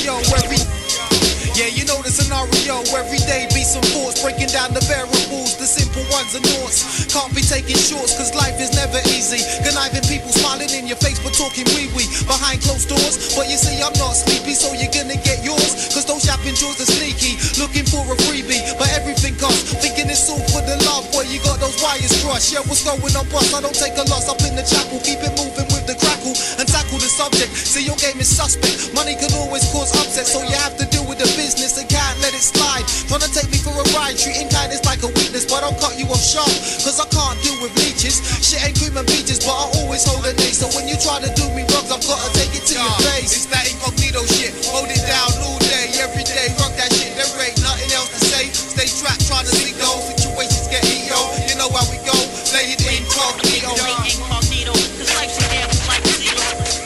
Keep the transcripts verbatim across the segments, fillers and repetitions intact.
scenario every Yeah, you know the scenario. Every day be some thoughts, breaking down the variables, the simple ones and noughts. Can't be taking shorts, cause life is never easy. Conniving people smiling in your face, but talking wee-wee behind closed doors. But you see, I'm not sleepy, so you're gonna get yours. Cause those yapping jaws are sneaky, looking for a freebie. But everything costs, thinking it's all for the love. Boy, you got those wires crossed. Yeah, what's going on, boss? I don't take a loss up in the chapel. Keep it moving with the crackle and tackle the subject. See, your game is suspect. Money can always cause upset, so you have to deal with the business and can't let it slide. Trying to take me for a ride, treating kindness like a weakness, but I'll cut you off sharp, cause I can't deal with leeches. Shit ain't cream and peaches, but I always hold a knee. So when you try to do me wrongs, I've gotta take it to Yo, your face. It's that incognito shit, hold it down all day, every day. Rock that shit, there ain't nothing else to say. Stay trapped, trying to see those situations get heat, yo. You know how we go, play it incognito. Play incognito, cause life's a gamble like a zero.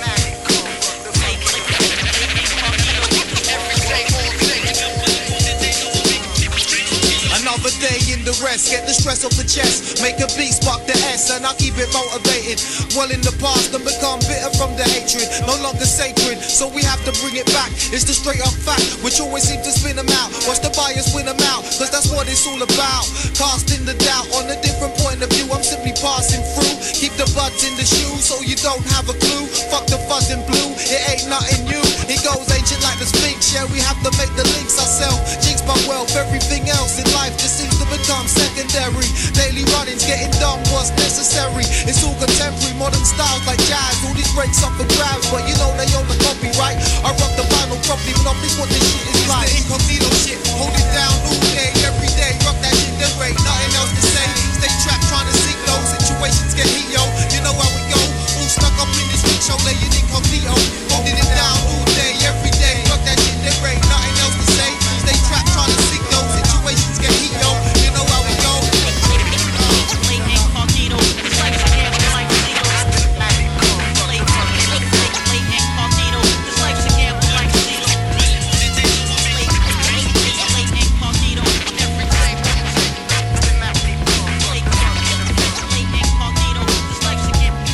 Another day in the rest, get the stress off the chest. Make a beat, spark the S, and I'll keep it motivated. Well in the past and become bitter from the hatred. No longer sacred, so we have to bring it back. It's the straight up fact, which always seems to spin them out. Watch the bias win them out, cause that's what it's all about. Casting the doubt on a different point of view. I'm simply passing through. Keep the buds in the shoes so you don't have a clue. Fuck the fuzz in blue, it ain't nothing new. It goes ancient like the Sphinx, yeah, we have to make the links ourselves. Jinx my wealth, everything else in life just seems to become secondary. Daily runnings, getting done what's necessary. It's all contemporary, modern styles like jazz. All these breaks up for grabs, but you know they own the copyright. I rock the vinyl properly, but not this what this shit is like. It's the incognito shit, hold it down all day, every day. Rock that shit, there ain't nothing else to say. Stay trapped, trying to seek those situations get heat, yo. You know how we go, all stuck up in this week show, laying incognito. Holding it down all day, every day. Rock that shit, there ain't nothing else to say. Stay trapped, trying to seek those situations get heat, yo. You know how we go. Play incognito, cause life's a gamble like a zero. Play incognito, cause life's a gamble like a zero. Play incognito, every day. Play incognito, cause life's a gamble.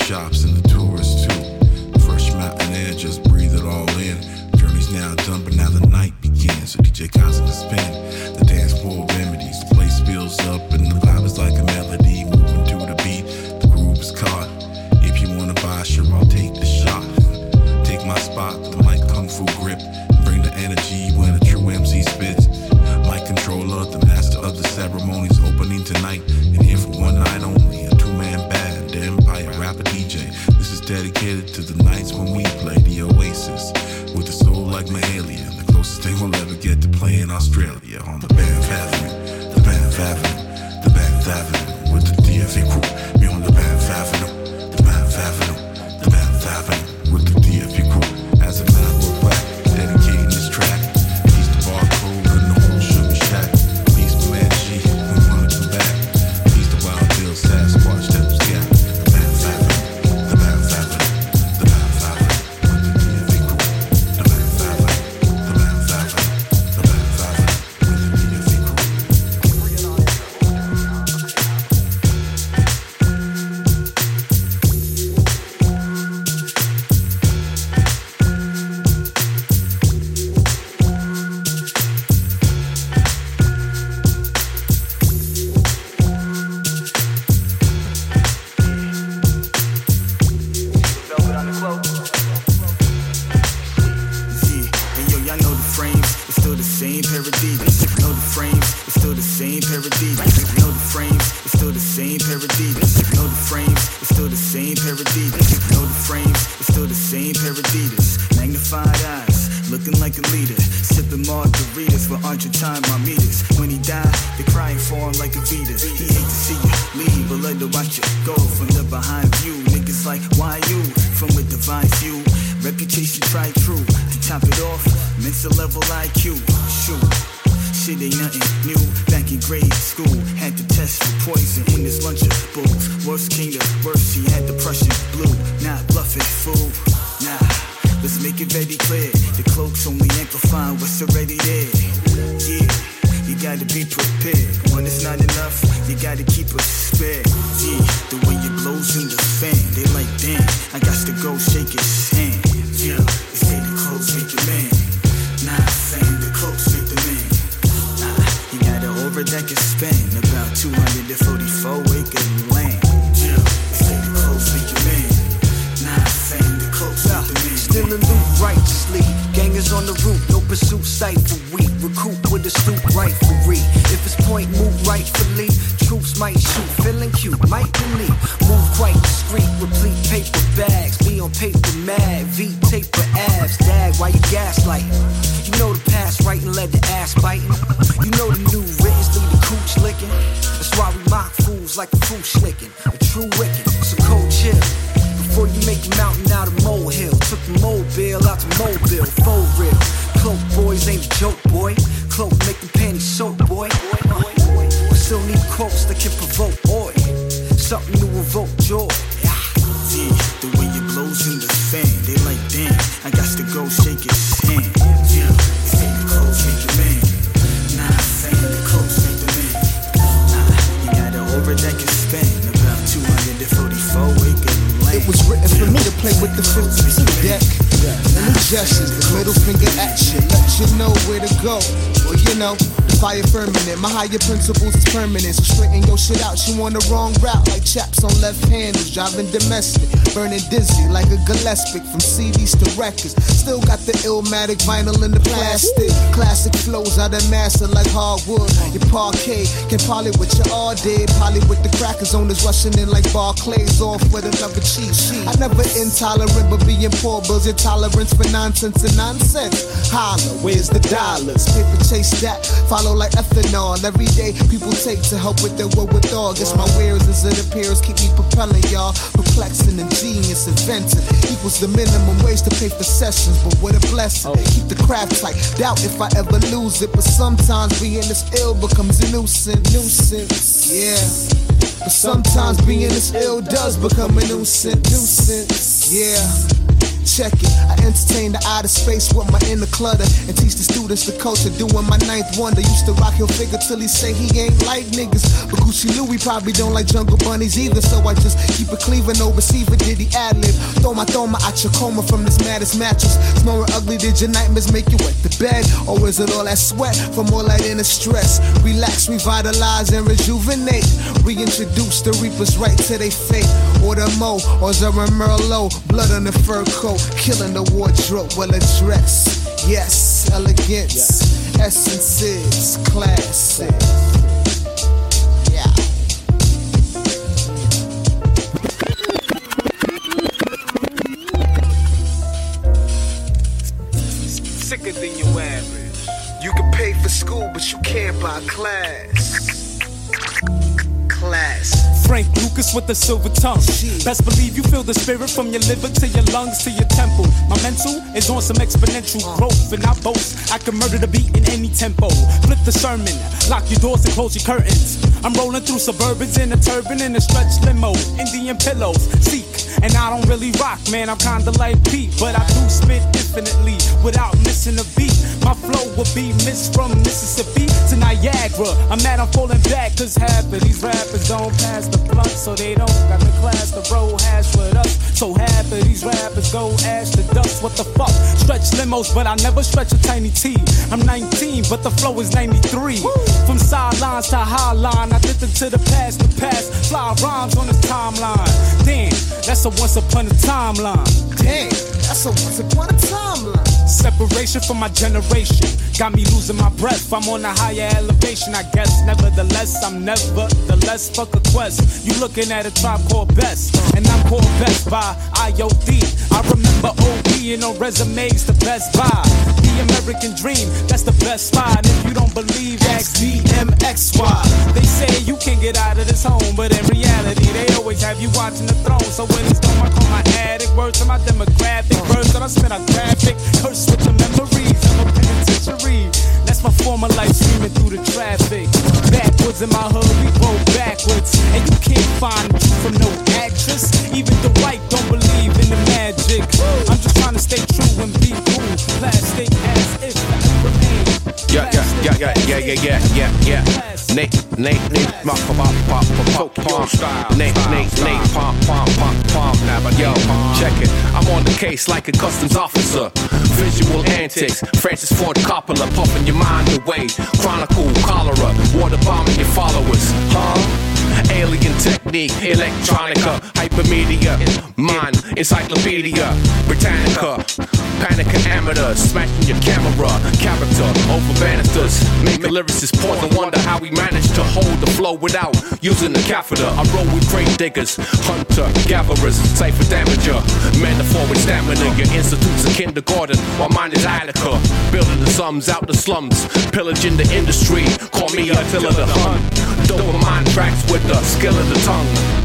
shops and the tourists too. Fresh mountain air, just breathe it all in. Journey's now done, but now the night begins. So D J Constant can spin the dance floor remedies. The place builds up and the vibe is like a melody. Moving to the beat, the groove is caught. If you wanna buy, sure I'll take the shot. Take my spot with the mic kung fu grip. And bring the energy when a true M C spits. Mic controller, the master of the ceremonies, opening tonight. And here for one night only, a two-man band, the Empire rapper D J. This is dedicated to the nights when we play the Oasis. With a soul like Mahalia, the closest they will ever get to playing Australia. On the Banff Avenue, the Banff Avenue, the Banff Avenue. With the D F E crew, me on the Banff Avenue, the Banff Avenue, the Banff Avenue. With the D F E crew, as a matter of fact, dedicating this track. He's the barcode and the whole sugar shack. He's the man G, we wanna come back. He's the Wild Bill Sasquatch that was got. The Banff Avenue, the Banff Avenue, the Banff Avenue. With the D F E crew, the Banff Avenue, the Banff Avenue, the Banff Avenue. With the D F E crew. Velvet on the cloak. Yeah, and yo, y'all know the frames, it's still the same pair of Adidas. Know the frames, it's still the same pair of Adidas. Know the frames, it's still the same pair of Adidas. Know the frames, it's still the same pair of Adidas. Know the frames, it's still the same pair of Adidas. Magnified eyes, looking like a leader. Sipping margaritas for Argentine marmitas. When he died, they're crying for him like a Vita. He hate to see you leave, but let her watch you go from the behind view. Niggas like, why you? From a divine view. Reputation tried true. To top it off, mental level I Q. Shoot. Shit ain't nothing new. Back in grade school, had to test for poison in his lunchable. Worst came to worst, he had the Prussian blue. Not bluffing, fool. Nah, let's make it very clear. The cloak's only amplifying what's already there. Yeah, you gotta be prepared. When it's not enough, you gotta keep a spare. Yeah, the way it blows in the fan, they like, damn, I got to go shake his hand. Yeah, they say the clothes make the man. Nah, saying the clothes make the man. Nah, you got an aura that can span about two hundred forty-four acre land. Yeah, they say the clothes make the man. Nah, saying the clothes make the man. Still in loot righteously. Gangers on the route, no pursuit stifle. We recruit with a stoop riflery. If it's point, move rightfully. Troops might shoot, feeling cute, might delete. Move quite discreet, replete paper bags. Be on paper mad, V taper abs. Dag, why you gaslighting? You know the past right and let the ass biting. You know the new writtens lead the cooch licking. That's why we mock fools like a fool schlicking. A true wicked, so cold chill. Before you make a mountain out of molehill. Took the mobile out to mobile, full real. Cloak boys ain't a joke, boy. Cloak make them panties soak, boy. We still need quotes that can provoke oil. Something to evoke joy. Yeah, the way it blows in the fan, they like, damn, I got to go shake his hand. Yeah, they say the clothes make the man. Nah, saying the clothes make the man. Nah, you got an aura that can span about two hundred forty-four acre land. It was written for me to play with the fifty-two deck. And the gestures, the middle finger action, let you know where to go. Well, you know, the fire firmament, my higher principles is permanent. So straighten your shit out, you on the wrong route. Like chaps on left handers, driving domestic. Burning dizzy like a Gillespie from C Ds to records. Still got the Illmatic vinyl in the plastic. Classic flows out of master like hardwood. Your parquet can poly with your all day. Poly with the crackers on this rushing in like Barclays off with another cheat sheet. I never intolerant, but being poor builds your tolerance for nonsense and nonsense. Holla, where's the dollars? Paper chase that, follow like ethanol. Every day people take to help with their wherewithal. Guess my wares as it appears keep me propelling y'all. Perplexing, ingenious, inventive equals the minimum wage to pay for sessions. But what a blessing, keep the craft tight. Doubt if I ever lose it, but sometimes being this ill becomes a nuisance. Nuisance, yeah. But sometimes being this ill does become a nuisance. Nuisance, yeah. Check it, I entertain the outer space with my inner clutter and teach the students the culture, doing my ninth wonder. Used to rock your figure till he say he ain't like niggas, but Gucci Louie probably don't like jungle bunnies either, so I just keep it cleaving, no receiver, did he ad-lib? Throw my throw my out your coma from this maddest mattress. Snoring ugly, did your nightmares make you wet the bed? Or is it all that sweat from all that inner stress? Relax, revitalize, and rejuvenate. Reintroduce the reapers right to their fate. Order Mo, or Zara Merlot, blood on the fur coat, killing the wardrobe, well addressed. Yes, elegance, yes. Essences, classic. Yeah. Sicker than your average. You can pay for school, but you can't buy class. Class. Frank Lucas with the silver tongue. Best believe you feel the spirit from your liver to your lungs to your temple. My mental is on some exponential growth, and I boast I can murder the beat in any tempo. Flip the sermon, lock your doors and close your curtains. I'm rolling through suburbans in a turban and a stretch limo. Indian pillows, seek, and I don't really rock, man. I'm kinda like Pete, but I do spit infinitely without missing a beat. My flow will be missed from Mississippi to Niagara. I'm mad I'm falling back, cause half of these rappers don't pass the blunt, so they don't got the class the road hash with us. So half of these rappers go ash to dust. What the fuck? Stretch limos, but I never stretch a tiny T. I'm nineteen, but the flow is ninety-three. Woo! From sidelines to high line, I did it to the past, the past. Fly rhymes on this timeline. Damn, that's a once upon a timeline. Damn, that's a once upon a timeline. Separation from my generation got me losing my breath. I'm on a higher elevation, I guess. Nevertheless, I'm never the less fuck a quest. You looking at a tribe called Best, and I'm called Best by I O D. I remember O B and on resumes the Best Buy. The American dream, that's the best spot. If you don't believe, ask D M X Y. They say you can't get out of this home, but in reality, they always have you watching the throne. So when it's done, I call my addict. Words to my demographic. Words that I spit out graphic. Curse with the memories of a penitentiary. That's my former life screaming through the traffic. Backwards in my hood, we roll backwards. And you can't find the truth from no actress. Even the right don't believe in the magic. I'm just trying to stay true and be cool. Plastic as if I remain. Yeah, yeah, yeah, yeah, yeah, yeah, yeah, yeah, yeah. Nate, Nate, Nate, pop, pop, pop, pop, pop, Nate, Nate, Nate, pop, pop, pop, pop. Yo, check it. I'm on the case like a customs officer. Visual antics, Francis Ford Coppola, puffing your mind away. Chronicle, cholera, water bombing your followers, huh? Alien technique, electronica, hypermedia, mind, encyclopedia, Britannica, panic and amateurs, smashing your camera, character, over banisters, make a lyricist pause and wonder how we managed to hold the flow without using the catheter. I roll with grave diggers, hunter, gatherers, cipher damager, metaphor with stamina. Your institute's a kindergarten, while mine is Attica, building the sums out the slums, pillaging the industry. Call me Attila the Hun. Dopamine tracks with the skill of the tongue.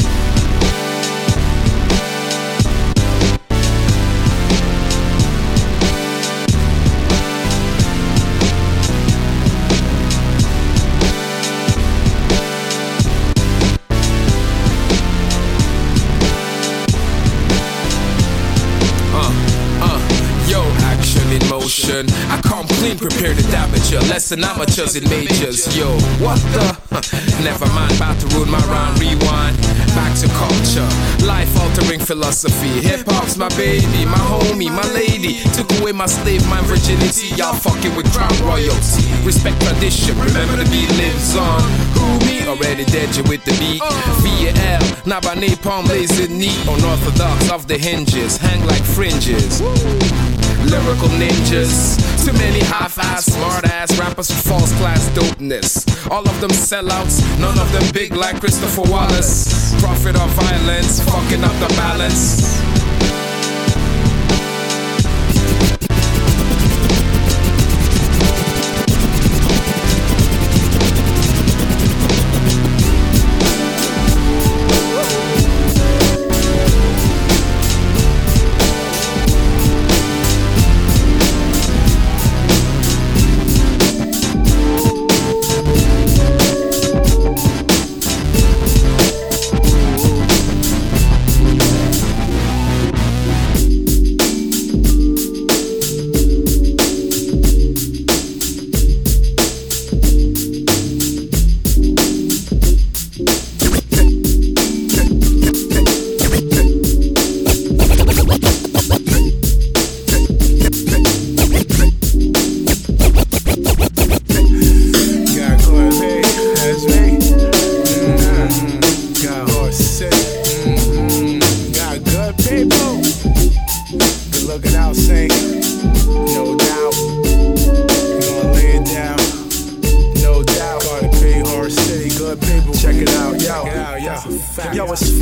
I come clean, prepared to damage you. Lesson amateurs and majors. Yo, what the? Never mind, about to ruin my rhyme. Rewind, back to culture. Life-altering philosophy. Hip-hop's my baby, my homie, my lady. Took away my slave, my virginity. Y'all fucking with crown royalty. Respect tradition, remember the beat lives on. Who me? Already dead, you with the beat. V A L, now by napalm, lazy neat. Unorthodox, off the hinges, hang like fringes. Lyrical ninjas, too many half-ass, smart-ass rappers with false class dopeness. All of them sellouts, none of them big like Christopher Wallace. Profit of violence, fucking up the balance.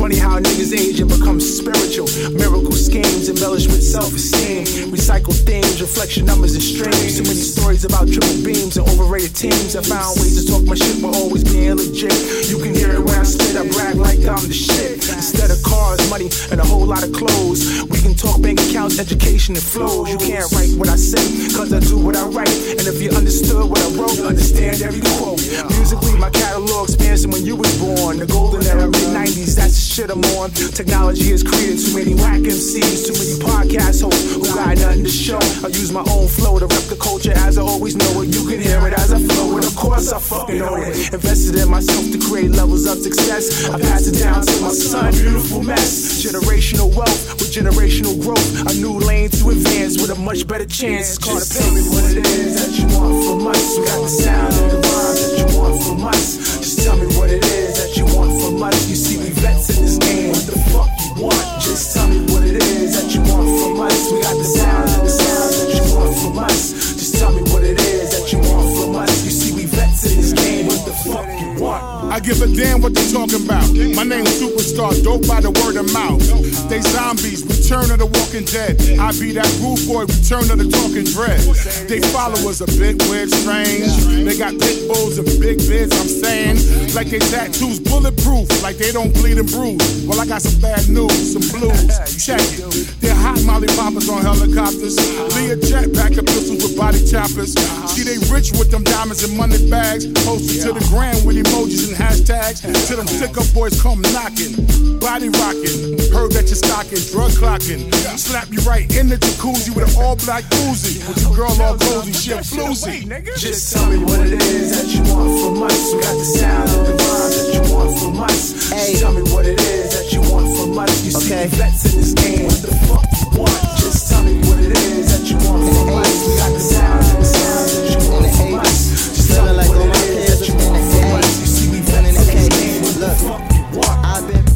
Funny how niggas age and become spiritual. Miracle schemes embellished with self-esteem. Recycle themes, reflection numbers and streams. Too many stories about triple beams and overrated teams. I found ways to talk my shit while always being legit. You can hear it when I spit, I brag like I'm the shit. Instead of cars, money, and a whole lot of clothes, we can talk bank accounts, education, and flows. You can't write what I say, cause I do what I write. And if you understood what I wrote, you understand every quote. Musically, my catalog spans from when you was born. The golden era, mid nineties, that's the shit I'm on. Technology has created too many whack M Cs, too many podcast hosts who got nothing to show. I use my own flow to rep the culture as I always know it. You can hear it as I flow, and of course I fucking know it. Invested in myself to create levels of success. I pass it down to my son, beautiful mess. Generational wealth with generational growth. A new lane to advance with a much better chance. It's called Just tell me what it is that you want from us. We got the sound and the rhymes that you want from us. Just tell me what it is that you want from us. You see we vets in this game. What the fuck you want? Just tell me what it is that you want from us. We got the sound and the sounds that you want from us. Just tell me what it is that you want from us. You see we vets in this game. What the fuck you want? I give a damn what they talking about. My name's Superstar, dope by the word of mouth. They zombies, return of the walking dead. I be that rude boy, return of the talking dread. They followers a bit weird, strange. They got pit bulls and big bids, I'm saying. Like they tattoos bulletproof, like they don't bleed and bruise. Well, I got some bad news, some blues. Check it. They're hot molly poppers on helicopters. Leah jetpack and pistols with body choppers. See, they rich with them diamonds and money bags. Posted to the ground with emojis and hashtags. Till them sick up boys come knocking. Body rocking. Heard that you're stocking, drug clocking. Slap you right in the jacuzzi with an all black Uzi. With your girl all cozy, she a floozy. Just tell me what it is that you want from us. We got the sound and the rhymes that you want from us. Just tell me what it is that you want from us. You see okay. vets in this game. What the fuck you want? Just tell me what it is that you want from us. We got the sound and the sounds that you want from us. Just tell me what it is that you want from us. You see we vets in this game. What the fuck you want? I've been.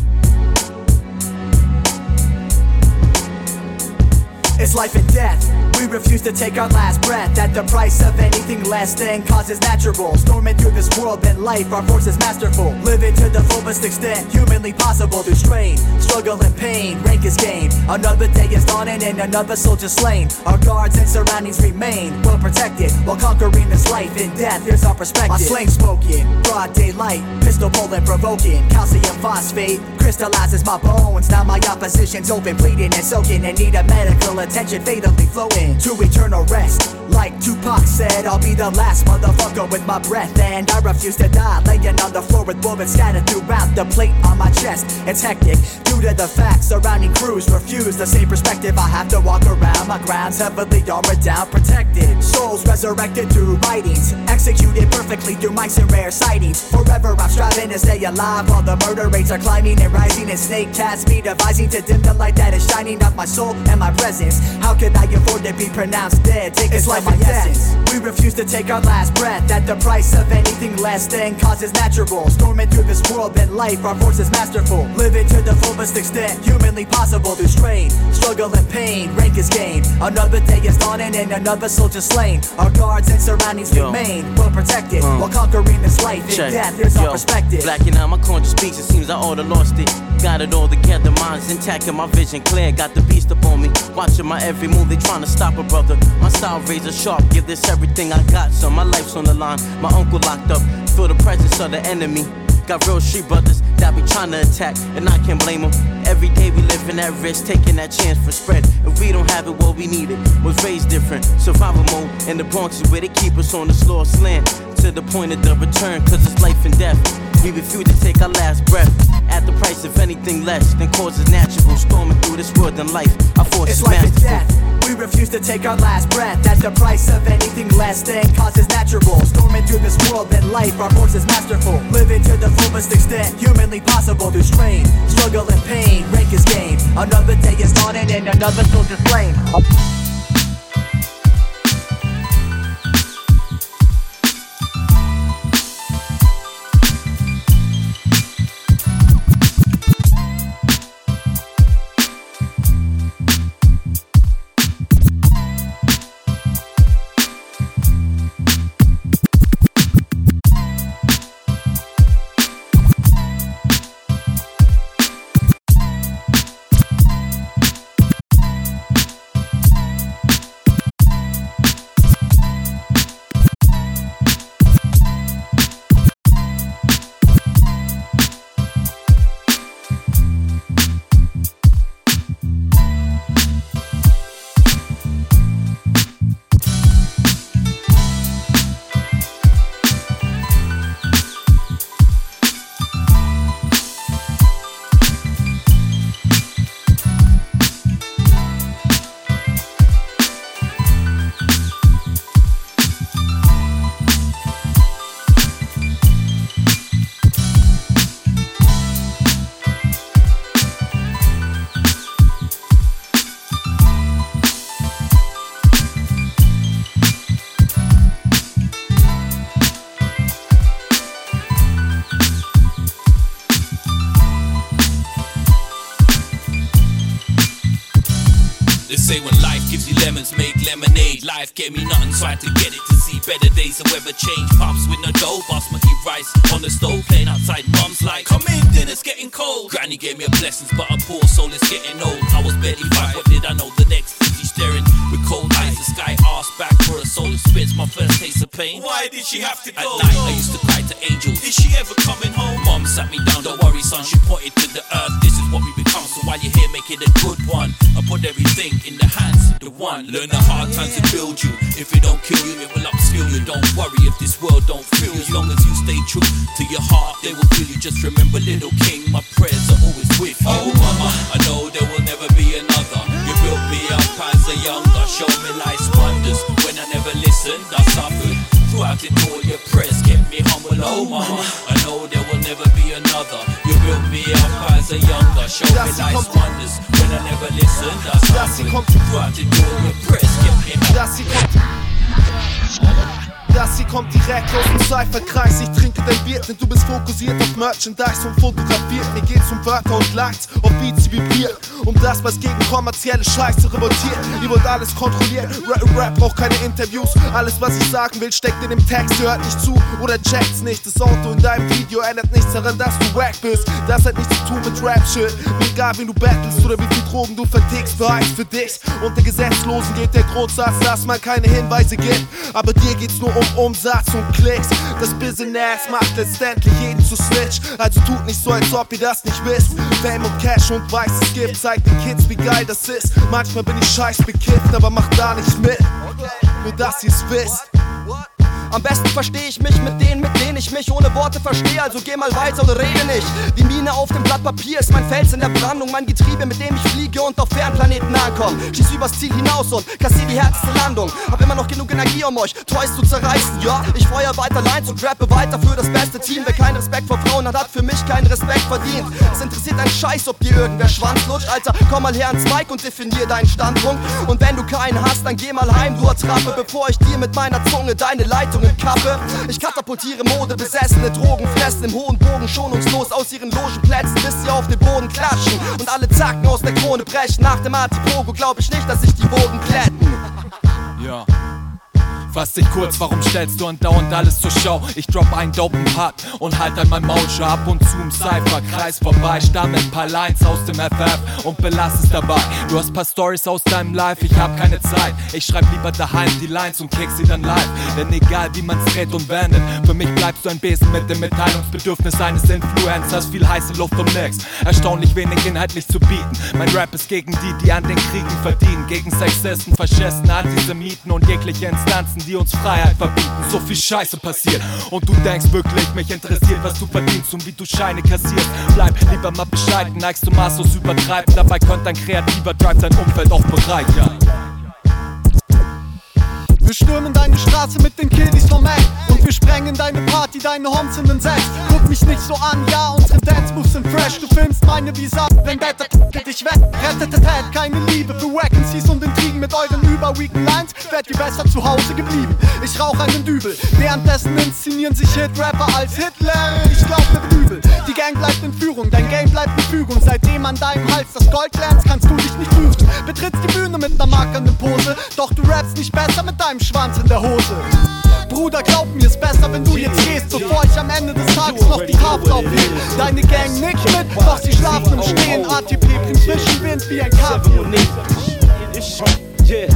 It's life and death. We refuse to take our last breath. At the price of anything less than causes natural. Storming through this world and life, our force is masterful. Living to the fullest extent humanly possible. Through strain, struggle and pain, rank is gained. Another day is dawning and another soldier slain. Our guards and surroundings remain well protected. While conquering this life and death, here's our perspective. My slang spoken, broad daylight, pistol pulling, provoking. Calcium phosphate crystallizes my bones. Now my opposition's open, bleeding and soaking, and need a medical attention fatally flowing to eternal rest. Like Tupac said, I'll be the last motherfucker with my breath, and I refuse to die, laying on the floor with bullets scattered throughout the plate on my chest. It's hectic due to the facts surrounding crews refuse the same perspective. I have to walk around my grounds heavily armored down, protected. Souls resurrected through writings, executed perfectly through mics and rare sightings. Forever I'm striving to stay alive while the murder rates are climbing and rising, and snake cats me devising to dim the light that is shining off my soul and my presence. How could I afford to be pronounced dead? Take it's life my essence. We refuse to take our last breath at the price of anything less than causes natural. Storming through this world and life, our force is masterful. Living to the fullest extent humanly possible. Through strain, struggle and pain, rank is gained. Another day is dawning and another soldier slain. Our guards and surroundings Yo. remain well protected uh. while conquering this life and Check. death. Here's Yo. our perspective. Blacking out my conscious speaks, it seems I oughta lost it. Got it all together, mind's intact and my vision clear. Got the beast up on me, watching my every move. They trying to stop a brother. My style razor sharp, give this everything I got. So my life's on the line, my uncle locked up. Feel the presence of the enemy. Got real street brothers that be trying to attack, and I can't blame them. Every day we living at risk, taking that chance for spread. If we don't have it, well we need it. Was raised different, survival mode. And the Bronx is where they keep us on the slow slant. To the point of the return, cause it's life and death. We refuse to take our last breath at the price of anything less than causes natural. Storming through this world and life, our force it's is life masterful. and death. We refuse to take our last breath at the price of anything less than causes natural. Storming through this world and life, our force is masterful. Living to the fullest extent humanly possible. Through strain, struggle and pain, rank is gained. Another day is dawning and another soldier slain. They say when life gives you lemons, make lemonade. Life gave me nothing, so I had to get it to see better days. The weather change, pops with no dough, basmati rice on the stove, playing outside. Mum's like, come in, dinner's getting cold. Granny gave me a blessings, but a poor soul is getting old. I was barely five, what did I know? The next fifty staring with cold eyes. The sky asked back for a soul. Spits my first taste of pain. Why did she have to go? At night I used to cry to angels. Is she ever coming home? Mum sat me down, don't worry son. She pointed to the earth. This is what we become. So while you're here, make it a good one. I put everything in the hands of the one. Learn the hard times to build you. If it don't kill you, it will upskill you. Don't worry if this world don't feel you. As long as you stay true to your heart, they will feel you. Just remember, little king, my prayers are always with you. Oh mama, I know there will never be another. You built me up as a younger. Show me life's wonders. When I never listened, I suffered. Throughout it all, your prayers kept me humble. Oh mama, I know there will never be another. You built me up as a younger. Show me life's wonders. When I never listened, I suffered. Throughout it all, your prayers kept me humble. Das hier kommt direkt aus dem Cypherkreis. Ich trinke dein Bier, denn du bist fokussiert auf Merchandise und fotografiert. Mir geht's um Wörter und Likes, auf Beats, die vibrieren. Um das, was gegen kommerzielle Scheiße revoltiert. Ihr wollt alles kontrollieren, Rap, Rap braucht keine Interviews. Alles, was ich sagen will, steckt in dem Text. Ihr hört nicht zu oder checkt's nicht. Das Auto in deinem Video ändert nichts daran, dass du wack bist. Das hat nichts zu tun mit Rap-Shit. Mir egal, wen du battlest oder wie viel Drogen du vertickst. Beweis für dich. Unter Gesetzlosen geht der Grundsatz, dass man keine Hinweise gibt. Aber dir geht's nur um Umsatz und Klicks. Das Business macht letztendlich jeden zu Snitch. Also tut nicht so, als ob ihr das nicht wisst. Fame und Cash und weißes Gift zeigt den Kids, wie geil das ist. Manchmal bin ich scheiß bekifft, aber mach da nicht mit. Nur dass ihr's wisst. Am besten verstehe ich mich mit denen, mit denen ich mich ohne Worte verstehe. Also geh mal weiter oder rede nicht. Die Mine auf dem Blatt Papier ist mein Fels in der Brandung. Mein Getriebe, mit dem ich fliege und auf Fernplaneten ankomme. Schieß übers Ziel hinaus und kassier die härteste Landung. Hab immer noch genug Energie, um euch Toys zu zerreißen. Ja, ich feuer weiter Lines und rappe weiter für das beste Team. Wer keinen Respekt vor Frauen hat, hat für mich keinen Respekt verdient. Es interessiert einen Scheiß, ob dir irgendwer Schwanz lutscht. Alter, komm mal her ans Mic und definier deinen Standpunkt. Und wenn du keinen hast, dann geh mal heim, du Attrappe, bevor ich dir mit meiner Zunge deine Leitung Kappe. Ich katapultiere Mode, besessene Drogen fressen im hohen Bogen schonungslos aus ihren Logenplätzen, bis sie auf den Boden klatschen und alle Zacken aus der Krone brechen. Nach dem Artipogo glaub ich nicht, dass sich die Boden glätten. Ja. Fass dich kurz, warum stellst du andauernd alles zur Schau? Ich drop einen dopen Part und halt an mein Maul. Schau ab und zu im Cypher-Kreis vorbei. Stamm ein paar Lines aus dem F F und belass es dabei. Du hast paar Stories aus deinem Life, ich hab keine Zeit. Ich schreib lieber daheim die Lines und kick sie dann live. Denn egal wie man's dreht und wendet, für mich bleibst du ein Besen mit dem Mitteilungsbedürfnis eines Influencers. Viel heiße Luft um nix, erstaunlich wenig inhaltlich zu bieten. Mein Rap ist gegen die, die an den Kriegen verdienen. Gegen Sexisten, Faschisten, Antisemiten und jegliche Instanzen, die uns Freiheit verbieten. So viel Scheiße passiert und du denkst wirklich, mich interessiert, was du verdienst und wie du Scheine kassierst. Bleib lieber mal bescheiden, neigst du maßlos übertreiben. Dabei könnte ein kreativer Drive dein Umfeld auch bereichern. Wir stürmen deine Straße mit den Kiddies vom Mac und wir sprengen deine Party, deine Homes in den Sex. Guck mich nicht so an, ja, unsere Dance-Moves sind fresh. Du filmst meine Visa, Vendetta, geht dich weg. Rettetet, keine Liebe für Wackensies und Intrigen. Mit euren überweaken Lines wärt ihr besser zu Hause geblieben. Ich rauch einen Dübel, währenddessen inszenieren sich Hit-Rapper als Hitler. Ich glaub mit Übel, die Gang bleibt in Führung, dein Game bleibt in Fügung. Seitdem an deinem Hals das Gold lernst, kannst du dich nicht führen. Betrittst die Bühne mit ner markernden Pose, doch du rappst nicht besser mit deinem Schwanz in der Hose. Bruder, glaub mir, ist besser, wenn du jetzt gehst, bevor ich am Ende des Tages noch die Haft aufhebe. Deine Gang nickt mit, doch sie schlafen im Stehen. A T P bringt Zwischenwind wie ein Kaffee. Yeah.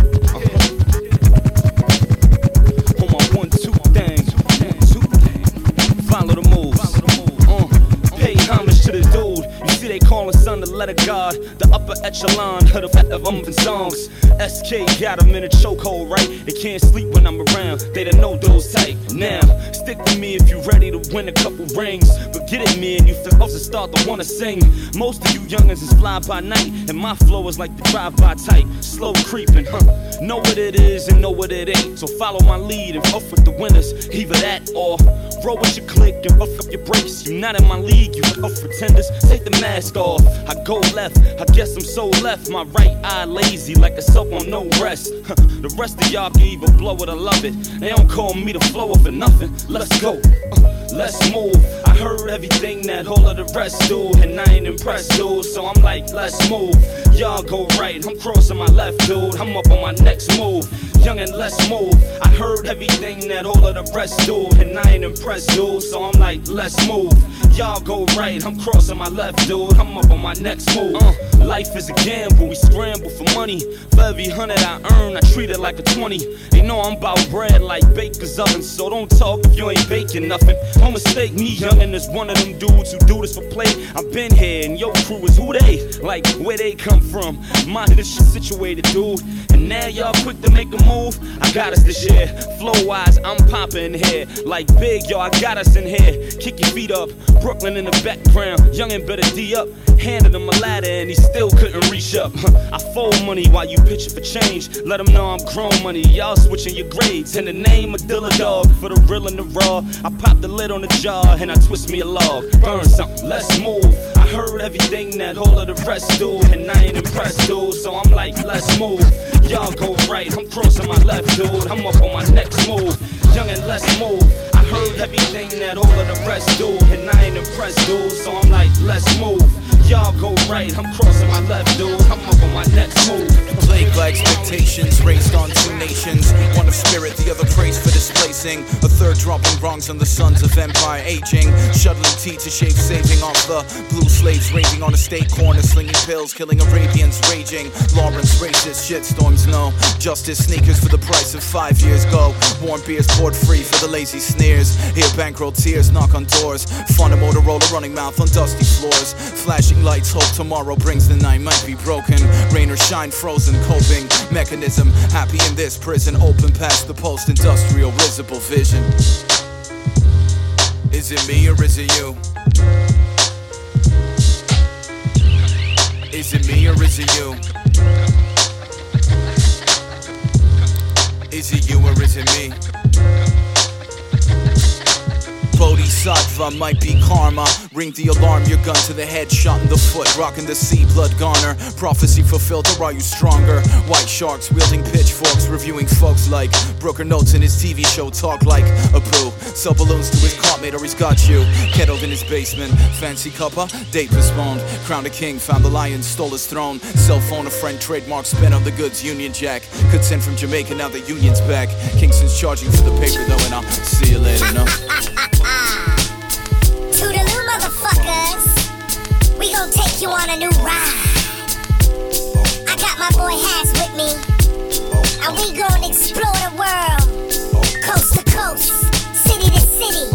On my one, two thing. Follow the moves. Uh, pay homage to the dude. You see they call his son the letter God, the upper echelon of the of um songs. S K got him in a chokehold, right? They can't sleep when I'm around. They don't know those type. Now, stick with me if you ready to win a couple rings. But get at me and you supposed to start to wanna sing. Most of you youngins is fly by night, and my flow is like the drive-by type, slow creeping, huh? Know what it is and know what it ain't. So follow my lead and fuck with the winners. Either that or roll with your click and buff up your brakes. You not in my league, you tough pretenders. Take the mask off. I go left. I guess I'm so left. My right eye lazy like a soap on no rest. Huh. The rest of y'all can either blow it or love it. They don't call me the flow for nothing. Let's go. Uh, let's move. I heard everything that all of the rest do, and I ain't impressed, dude. So I'm like, let's move. Y'all go right, I'm crossing my left, dude. I'm up on my next move. Young and let's move. I heard everything that all of the rest do, and I ain't impressed, dude. So I'm like, let's move. Y'all go right, I'm crossing my left, dude. I'm up on my next move. Uh, life is a gamble, we scramble for money. For every hundred I earn, I treat it like a twenty. They know I'm about bread like baker's oven, so don't talk if you ain't baking nothing. Don't mistake me, youngin' is one of them dudes who do this for play. I've been here, and your crew is who they? Like, where they come from? Mind this shit situated, dude. And now y'all quick to make a move. I got us this year. Flow-wise, I'm poppin' here. Like big, yo, I got us in here. Kick your feet up. Brooklyn in the background. Youngin' better D up. Handed him a ladder and he still couldn't reach up. I fold money while you pitchin' for change. Let them know I'm grown money. Y'all switching your grades. In the name of Dilla Dog. For the real and the raw. I pop the lid on the jar and I twist me a log. Burn something, let's move. I heard everything that all of the rest do, and I ain't impressed, dude. So I'm like, let's move. Y'all go right, I'm crossing my left, dude. I'm up on my next move. Young and let's move. I heard everything that all of the rest do, and I ain't impressed, dude. So I'm like, let's move. Y'all go right, I'm crossing my left, dude. I'm up on my next move. Plagued by expectations, raised on two nations. One of spirit, the other praise for displacing. A third dropping wrongs on the sons of empire aging. Shuttling tea to shave, saving off the blue slaves. Raging on a state corner, slinging pills, killing Arabians, raging. Lawrence racist, shitstorms, no. Justice sneakers for the price of five years go. Warm beers poured free for the lazy sneers. Hear bankroll tears knock on doors. Fun a Motorola running mouth on dusty floors. Flashing lights, hope tomorrow brings the night might be broken. Rain or shine, frozen, coping mechanism. Happy in this prison, open past the post-industrial visible vision. Is it me or is it you? Is it me or is it you? Is it you or is it me? Bodhisattva might be karma. Ring the alarm, your gun to the head, shot in the foot, rocking the sea, blood goner. Prophecy fulfilled, or are you stronger? White sharks wielding pitchforks, reviewing folks like Brooker Notes in his T V show, talk like a poo. Sell balloons to his cartmate or he's got you. Kettled in his basement, fancy cuppa, date postponed. Crowned a king, found the lion, stole his throne. Cell phone a friend, trademark, spent on the goods, Union Jack. Could send from Jamaica, now the union's back. Kingston's charging for the paper though, and I'll see you later, no? Toodaloo, motherfuckers. We gon' take you on a new ride. I got my boy Has with me, and we gon' explore the world, coast to coast, city to city.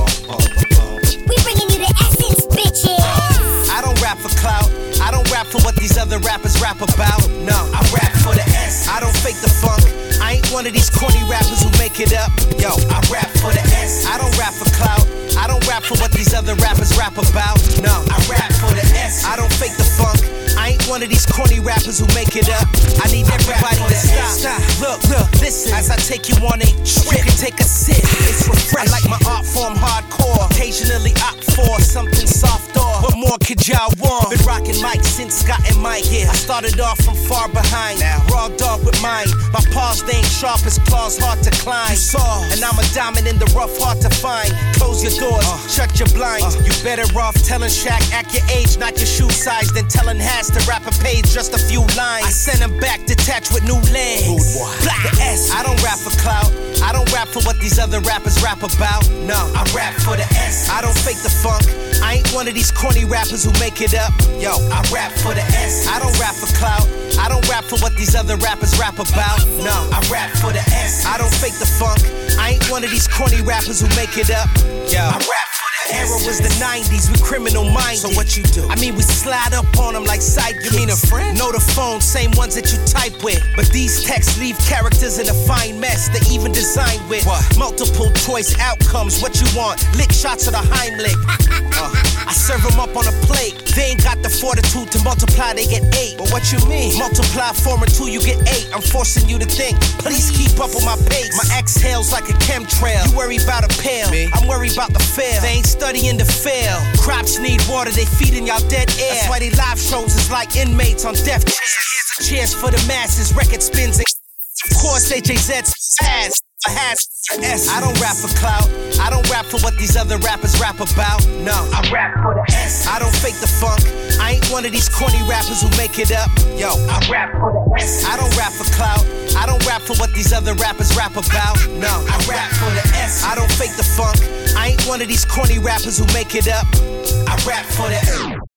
We bringing you the essence, bitches. I don't rap for clout. I don't rap for what these other rappers rap about. No, I rap for the S. I don't fake the funk. I ain't one of these corny rappers who make it up. Yo, I rap for the S. I don't rap for clout. I don't rap for what these other rappers rap about. No, I rap for the S. I don't fake the funk. I ain't one of these corny rappers who make it up. I need everybody to stop. Stop. Look, look, listen. As I take you on a trip, you can take a sip. It's refreshing. I like my art form hardcore. Occasionally opt for something softer. What more could y'all want? Been rocking mics since Scott and Mike. Yeah, I started off from far behind. Now, raw dog with mine. My paws, they ain't sharp as claws, hard to climb. You saw, and I'm a diamond in the rough, hard to find. Close your doors, uh, shut your blinds. Uh, you better off telling Shaq, act your age, not your shoe size, than telling Has to rap a page, just a few lines. I send him back detached with new legs. The S. I don't rap for clout. I don't rap for what these other rappers rap about. No, I rap for the S. I don't fake the funk. I ain't one of these corny rappers who make it up. Yo, I rap for the S. I don't rap for clout. I don't rap for what these other rappers rap about. No, I rap for the S. I don't fake the funk. I ain't one of these corny rappers who make it up. Yo, I rap for the S. Era was the nineties, we criminal minded. So what you do? I mean, we slide up on them like sidekicks. You mean a friend? Know the phone, same ones that you type with. But these texts leave characters in a fine mess. They even designed with what? Multiple choice outcomes. What you want? Lick shots of the Heimlich. uh, I serve them up on a plate. They ain't got the fortitude to multiply, they get eight. But what you mean? Multiply four and two, you get eight. I'm forcing you to think. Please keep up with my pace. My exhale's like a chemtrail. You worry about a pill. Me? I'm worried about the fail. They ain't studying to fail. Crops need water, they feeding y'all dead air. That's why they live shows is like inmates on death chairs. Cheers for the masses, record spins and of course H A Z's ass. for has S. I don't rap for clout. I don't rap for what these other rappers rap about. No, I rap for the S. I don't fake the funk. I ain't one of these corny rappers who make it up. Yo, I rap for the S. I don't rap for clout. I don't rap for what these other rappers rap about. No, I rap for the S. I don't fake the funk. I ain't one of these corny rappers who make it up. I rap for the S.